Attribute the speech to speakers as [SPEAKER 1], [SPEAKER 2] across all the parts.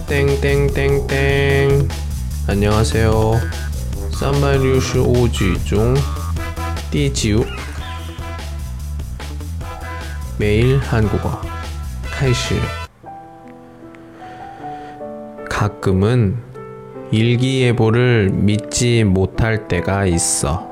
[SPEAKER 1] 땡땡땡땡. 안녕하세요. 365句중第9 매일 한국어 开始. 가끔은 일기예보를 믿지 못할 때가 있어.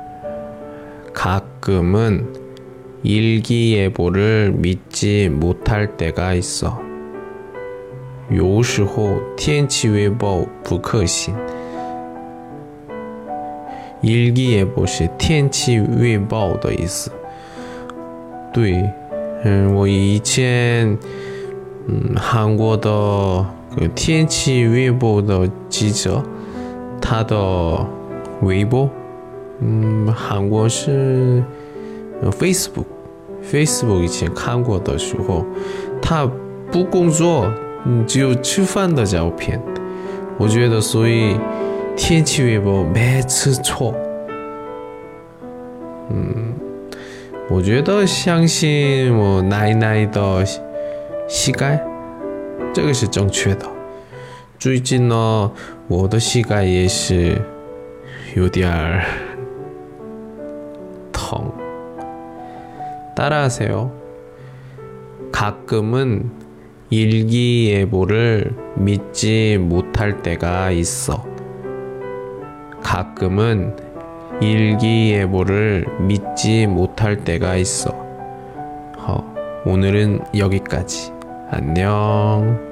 [SPEAKER 1] 가끔은 일기예보를 믿지 못할 때가 있어. 有时候天气预报不可信. 일기예보是天气预报的意思. 对，我以前韩国的天气预报的记者，他的微博，韩国是Facebook 以前看过的时候，他不工作，只有吃饭的照片。我觉得所以天气预报每次错。我觉得相信我奶奶的膝盖，这个是正确的。最近呢，我的膝盖也是有点疼。따라하세요. 가끔은 일기예보를 믿지 못할 때가 있어. 가끔은 일기예보를 믿지 못할 때가 있어. 오늘은 여기까지. 안녕.